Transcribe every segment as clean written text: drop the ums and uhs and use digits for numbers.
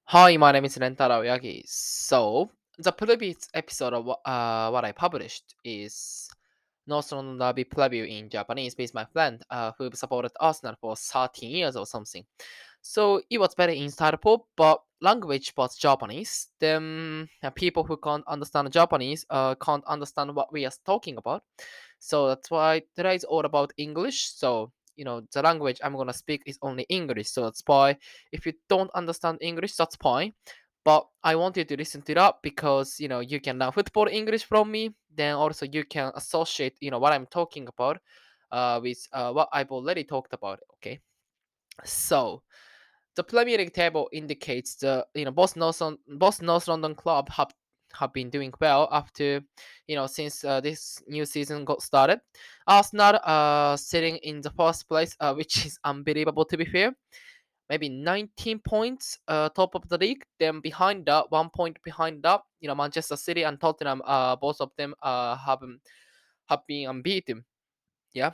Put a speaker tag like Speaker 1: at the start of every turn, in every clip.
Speaker 1: Hi, my name is Rentaro Yagi. So, the previous episode of what I published is North London Derby preview in Japanese with my friend who supported Arsenal for 13 years or something. So, it was very insightful, but language was Japanese. Then, people who can't understand Japanese can't understand what we are talking about. So, that's why today is all about English. So, the language I'm gonna speak is only English. So, that's why if you don't understand English, that's fine. But I want you to listen to that because you can learn football English from me. Then also you can associate what I'm talking about with what I've already talked about. Okay, so the Premier League table indicates the both North London club have been doing well after since this new season got started. Arsenal sitting in the first place, which is unbelievable to be fair, maybe 19 points top of the league. Then behind that, 1 point behind that, Manchester City and Tottenham, both of them have been unbeaten. Yeah.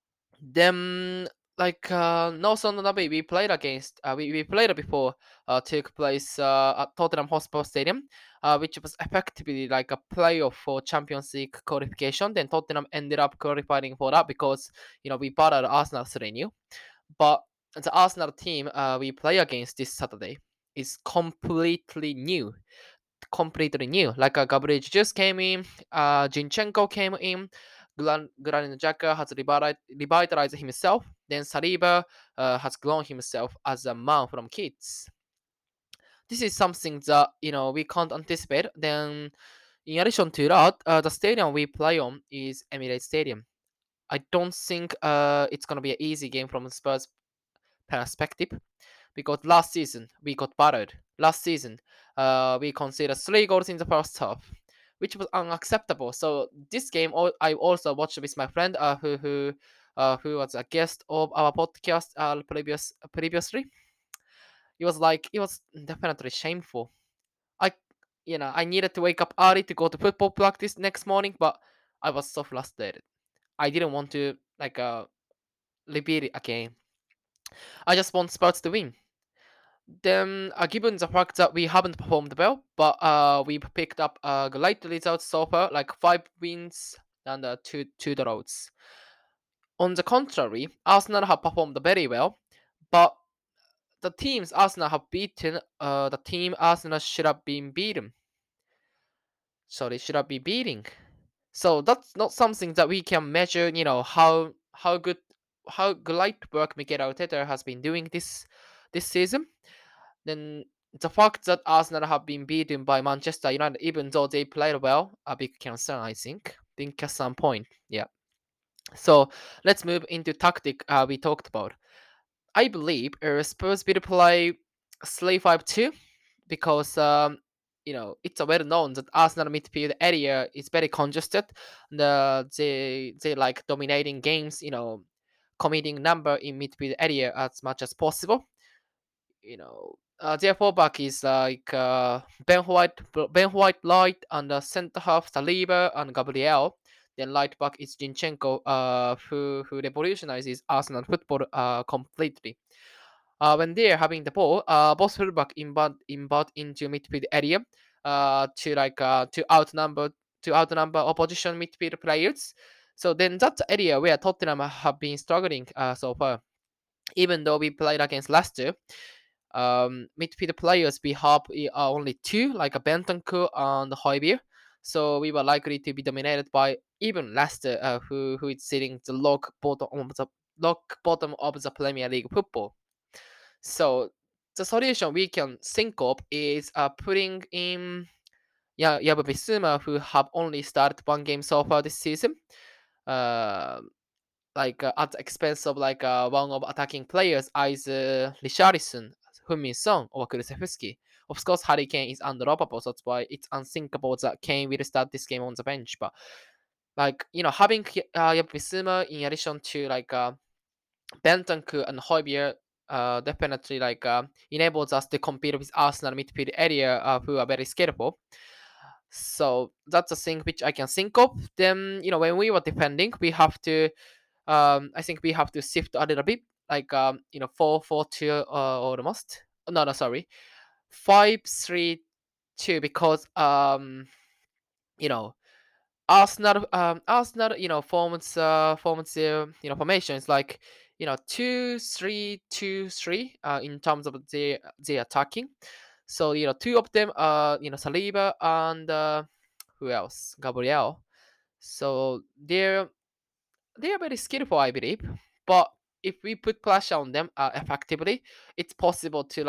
Speaker 1: Then North London Derby we played against, we played before, took place at Tottenham Hotspur Stadium, which was effectively like a playoff for Champions League qualification. Then Tottenham ended up qualifying for that because we battered Arsenal 3-0. But the Arsenal team we play against this Saturday is completely new. Completely new. Like Gabriel Jesus came in, Zinchenko came in, Granit Xhaka has revitalized himself. Then Saliba has grown himself as a man from kids. This is something that we can't anticipate. Then, in addition to that, the stadium we play on is Emirates Stadium. I don't think it's gonna be an easy game from Spurs perspective because last season we got battered. Last season, we conceded 3 goals in the first half, which was unacceptable. So this game, I also watched with my friend who was a guest of our podcast previously. It was definitely shameful. I I needed to wake up early to go to football practice next morning, but I was so frustrated. I didn't want to repeat it again. I just want Spurs to win. Then, given the fact that we haven't performed well, but we've picked up great results so far, like 5 wins and two draws. On the contrary, Arsenal have performed very well, but the teams Arsenal have beaten, the team Arsenal should have been beaten. Sorry, should have been beating. So that's not something that we can measure. How great work Mikel Arteta has been doing this season. Then the fact that Arsenal have been beaten by Manchester United, even though they played well, a big concern, I think at some point. Yeah. So let's move into tactic we talked about. I believe Spurs will play 3-5-2 because it's well known that Arsenal midfield area is very congested. They like dominating games, committing number in midfield area as much as possible. Their fullback is like Ben White Light, and the center half Saliba and Gabriel. Then right back is Zinchenko, who revolutionizes Arsenal football completely. When they're having the ball, both fullback inbound into midfield area, to outnumber opposition midfield players. So then that's the area where Tottenham have been struggling so far. Even though we played against Leicester, midfield players we have are only two, like a Bentancur and Højbjerg. So we were likely to be dominated by even Leicester, who is sitting the log bottom of the Premier League football. So the solution we can think of is putting in Yabu Bissouma, who have only started one game so far this season. Uh, at the expense of one of attacking players, either Richarlison, Heung-min Son, or Kulusevski. Of course, Harry Kane is undroppable, so that's why it's unthinkable that Kane will start this game on the bench. But having Bissouma in addition to Bentancur and Højbjerg definitely enables us to compete with Arsenal midfield area, who are very scalable. So that's a thing which I can think of. Then when we were defending, we have to I think we have to shift a little bit, 4-4-2 almost. No, no, sorry, 5-3-2 because you know Arsenal forms their formation is like 2-3-2-3 in terms of their attacking. So two of them are Saliba and who else? Gabriel. So they are very skillful, I believe. But if we put pressure on them effectively, it's possible to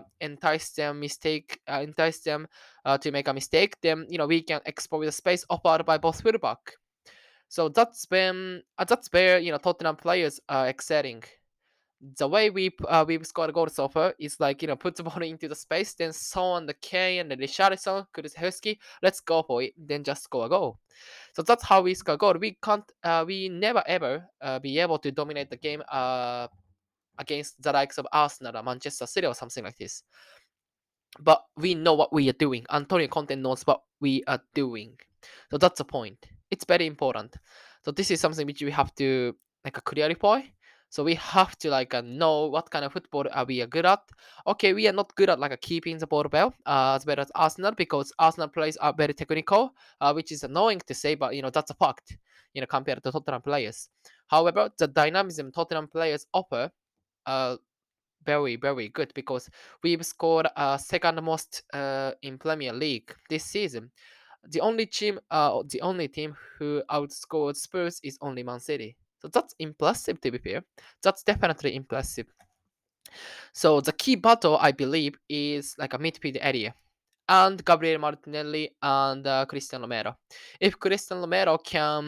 Speaker 1: entice them to make a mistake. Then we can exploit the space offered by both fullback. So that's where Tottenham players are excelling. The way we've scored goals so far is like put the ball into the space, then Son, the Kane, and the Richarlison, Kulusevski, let's go for it, then just score a goal. So that's how we score goal. We never ever be able to dominate the game against the likes of Arsenal or Manchester City or something like this. But we know what we are doing. Antonio Conte knows what we are doing. So that's the point. It's very important. So this is something which we have to clarify. So we have to know what kind of football are we are good at. Okay, we are not good at keeping the ball well as well as Arsenal because Arsenal players are very technical, which is annoying to say, but that's a fact. Compared to Tottenham players. However, the dynamism Tottenham players offer very, very good because we've scored second most in Premier League this season. The only team who outscored Spurs is only Man City. So that's impressive to be fair. That's definitely impressive. So the key battle, I believe, is like a midfield area. And Gabriel Martinelli and Christian Romero. If Christian Romero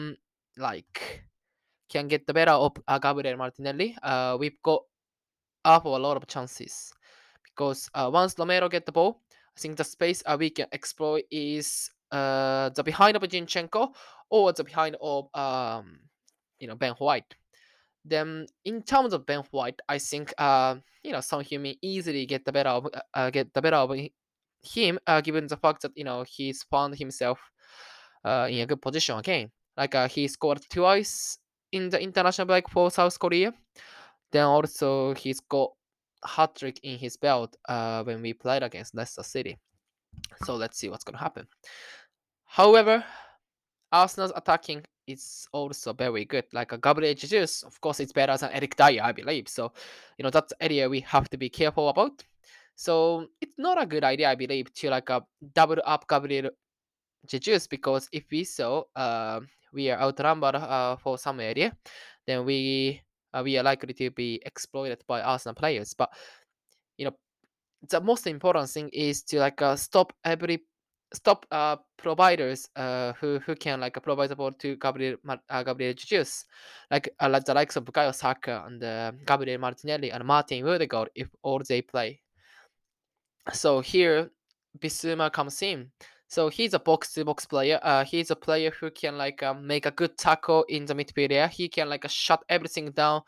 Speaker 1: can get the better of Gabriel Martinelli, we've got up a lot of chances because once Romero get the ball, I think the space we can exploit is the behind of Zinchenko or the behind of Ben White. Then in terms of Ben White, I think Son Heung-min easily get the better of him, given the fact that he's found himself in a good position again. He scored twice in the international break for South Korea. Then also he's got hat trick in his belt when we played against Leicester City. So let's see what's gonna happen. However, Arsenal's attacking is also very good. Like a Gabriel Jesus, of course, it's better than Eric Dyer, I believe. So that's the area we have to be careful about. So it's not a good idea, I believe, to double up Gabriel Jesus because if we are outnumbered for some area, then we are likely to be exploited by Arsenal players. But you know the most important thing is to stop providers who can provide the ball to Gabriel Jesus, like the likes of Bukayo Saka and Gabriel Martinelli and Martin Odegaard if all they play. So here Bissouma comes in. So he's a box-to-box player. He's a player who can make a good tackle in the midfield area. He can shut everything down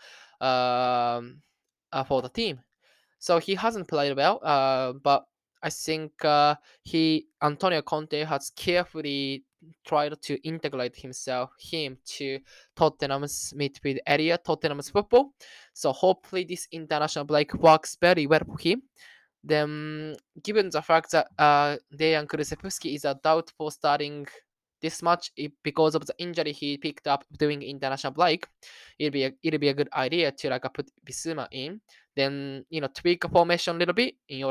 Speaker 1: for the team. So he hasn't played well, but I think Antonio Conte has carefully tried to integrate him to Tottenham's midfield area, Tottenham's football. So hopefully this international break works very well for him. Then, given the fact that Dejan Kulusevski is a doubt for starting this match because of the injury he picked up during international break, it'll be a good idea to put Bissouma in, then tweak a formation a little bit in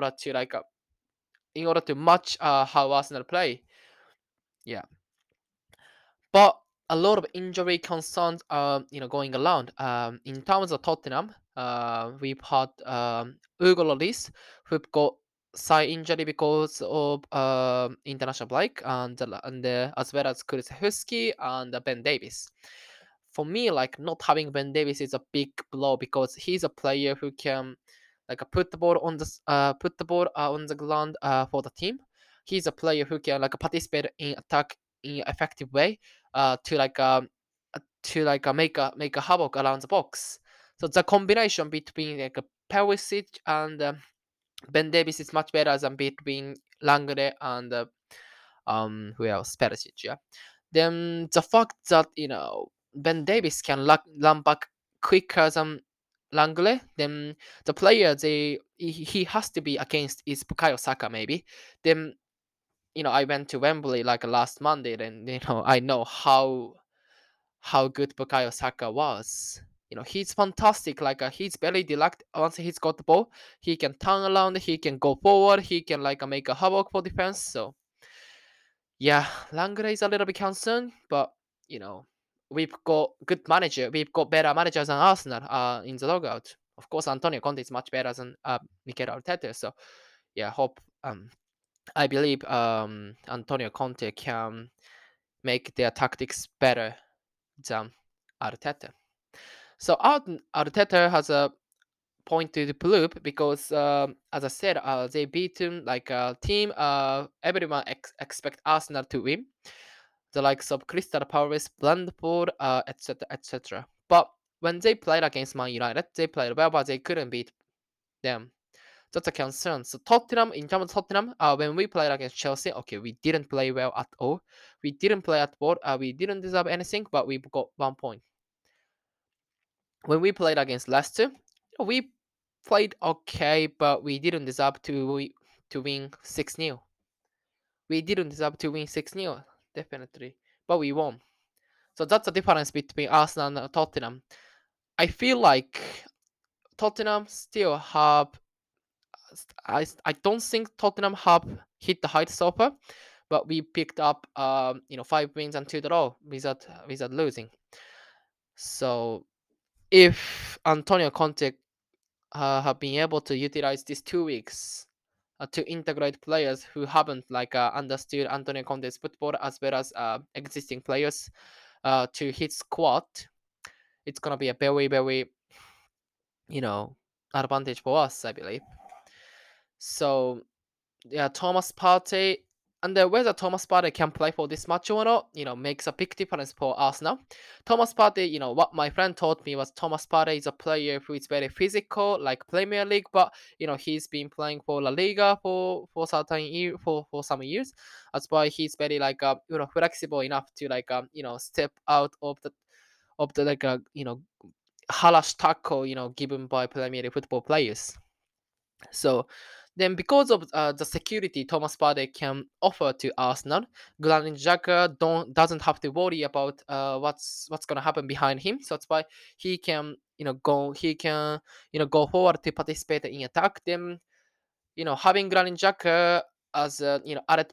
Speaker 1: order to match how Arsenal play. Yeah, but a lot of injury concerns are going around. In terms of Tottenham, we've had Hugo Lloris who've got side injury because of international break, and as well as Kulusevski and Ben Davies. For me, not having Ben Davies is a big blow because he's a player who can put the ball on the ground for the team. He's a player who can participate in attack in an effective way to make a havoc around the box. So the combination between Perisic and Ben Davies is much better than between Langley and who else? Perisic, yeah. Then the fact that Ben Davies can run back quicker than Langley, then the player he has to be against is Bukayo Saka maybe. Then I went to Wembley like last Monday, and I know how good Bukayo Saka was. He's fantastic. Like he's very direct. Once he's got the ball, he can turn around, he can go forward, he can like make a havoc for defense. So yeah, Langley is a little bit concerned, but you know, we've got good manager. We've got better managers than Arsenal in the logout. Of course, Antonio Conte is much better than Mikel Arteta. So yeah, hope I believe Antonio Conte can make their tactics better than Arteta. So Arteta has a point to prove because, as I said, they beaten like a team. Everyone expect Arsenal to win. The likes of Crystal Palace, Brentford, etc., etc. But when they played against Man United, they played well, but they couldn't beat them. That's a concern. So Tottenham, in terms of Tottenham, when we played against Chelsea, okay, we didn't play well at all. We didn't play at all. We didn't deserve anything, but we got 1 point. When we played against Leicester, we played okay, but we didn't deserve to win 6-0. We didn't deserve to win 6-0, definitely, but we won. So that's the difference between Arsenal and Tottenham. I feel like Tottenham still have. I don't think Tottenham have hit the heights so far, but we picked up 5 wins and 2 draw without losing. So if Antonio Conte have been able to utilize these 2 weeks to integrate players who haven't like understood Antonio Conte's football as well as existing players to his squad, it's gonna be a very very advantage for us, I believe. So yeah, Thomas Partey, and whether Thomas Partey can play for this match or not, makes a big difference for Arsenal. Thomas Partey, what my friend told me was Thomas Partey is a player who is very physical, like Premier League, but he's been playing for La Liga for some years. That's why he's very like flexible enough to like step out of the like harass tackle given by Premier League football players. So then, because of the security Thomas Partey can offer to Arsenal, Granit Xhaka doesn't have to worry about what's gonna happen behind him. So that's why he can go forward to participate in attack. Then having Granit Xhaka as a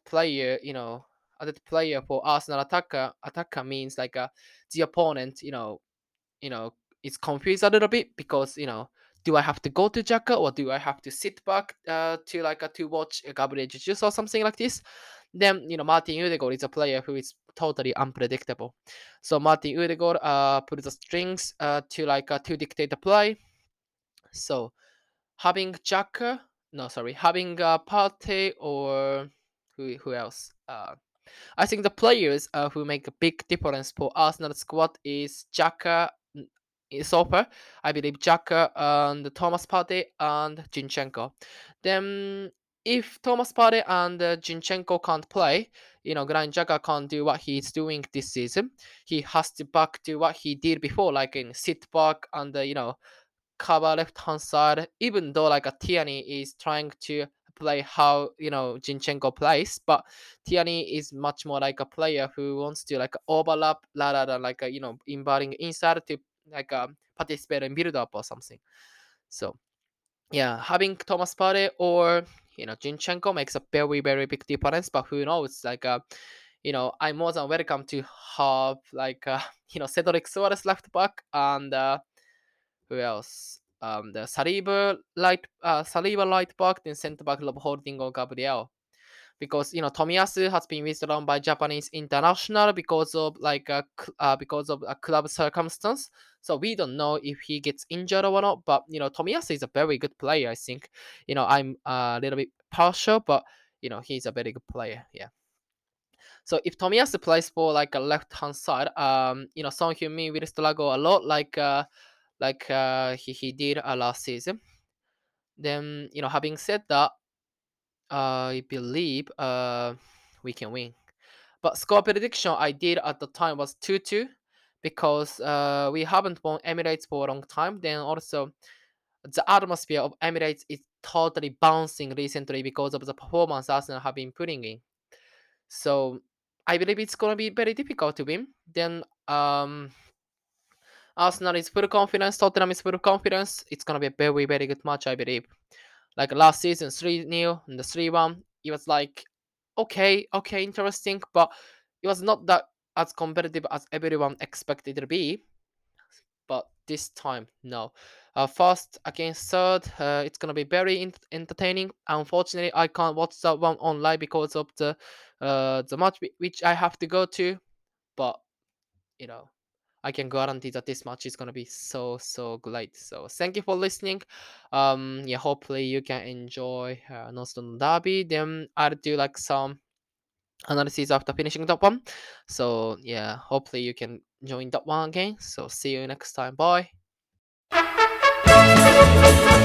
Speaker 1: added player for Arsenal attacker means like the opponent you know, is confused a little bit because do I have to go to Jaka or do I have to sit back to watch Gabriel Jesus or something like this? Then Martin Odegaard is a player who is totally unpredictable. So Martin Odegaard put the strings to dictate the play. So having Jaka, no sorry, having Partey or who else? I think the players who make a big difference for Arsenal squad is Xhaka, so far. I believe Xhaka and Thomas Partey and Zinchenko. Then if Thomas Partey and Zinchenko can't play, Granit Xhaka can't do what he's doing this season. He has to back to what he did before, like in sit back and cover left hand side. Even though like a Tierney is trying to play how Zinchenko plays, but Tierney is much more like a player who wants to like overlap rather than like inverting inside to like participate in build up or something. So yeah, having Thomas Partey or Zinchenko makes a very very big difference. But who knows? Like I'm more than welcome to have like Cedric Suarez left back and who else? The Saliba right back, then centre back Rob Holding or Gabriel. Because Tomiyasu has been withdrawn by Japanese international because of a club circumstance. So we don't know if he gets injured or not. But Tomiyasu is a very good player. I think I'm a little bit partial, but he's a very good player. Yeah. So if Tomiyasu plays for like a left hand side, Son Heung-min will struggle a lot, he did last season. Then having said that, I believe we can win. But score prediction I did at the time was 2-2 because we haven't won Emirates for a long time. Then also the atmosphere of Emirates is totally bouncing recently because of the performance Arsenal have been putting in. So I believe it's gonna be very difficult to win. Then Arsenal is full confidence, Tottenham is full confidence. It's gonna be a very, very good match, I believe. Like last season, 3-0 and the 3-1, it was like okay, interesting, but it was not that as competitive as everyone expected it to be. But this time, no. First against third, it's gonna be very entertaining. Unfortunately, I can't watch that one online because of the match which I have to go to. But you know, I can guarantee that this match is gonna be so great. So thank you for listening. Yeah, hopefully you can enjoy North London Derby. Then I'll do like some analysis after finishing that one. So yeah, hopefully you can join that one again. So see you next time. Bye.